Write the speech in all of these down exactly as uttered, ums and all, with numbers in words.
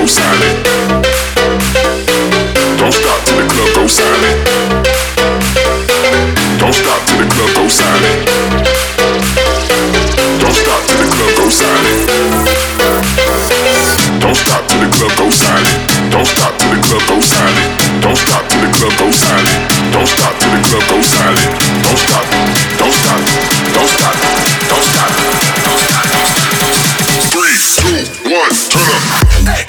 go silent. Don't stop till the club goes silent. Don't stop till the club goes silent. Don't stop till the club goes silent. Don't stop till the club goes silent. Don't stop till the club goes silent. Don't stop till the club goes silent. Don't stop till the club goes silent. Don't stop. Don't stop. Don't stop. Don't stop. Don't stop. Don't stop. Three, two, one, turn up. Hey.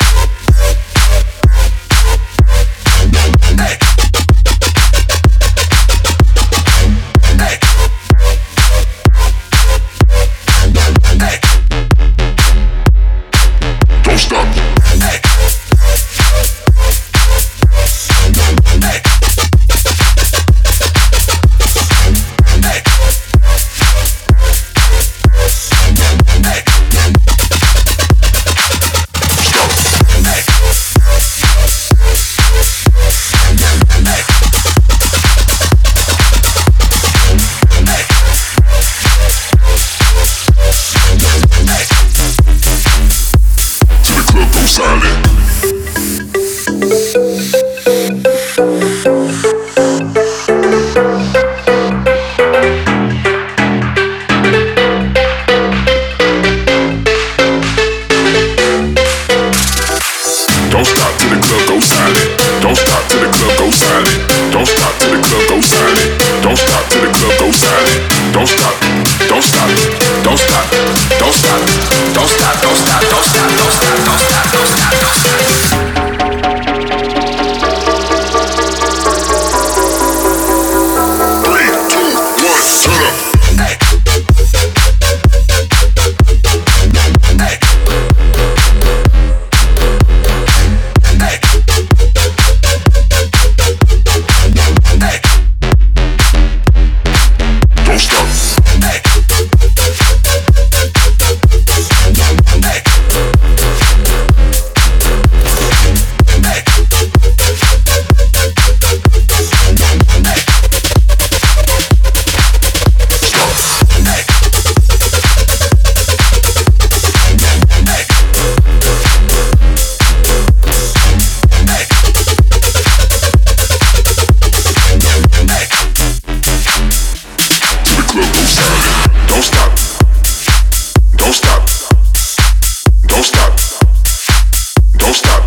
Don't stop.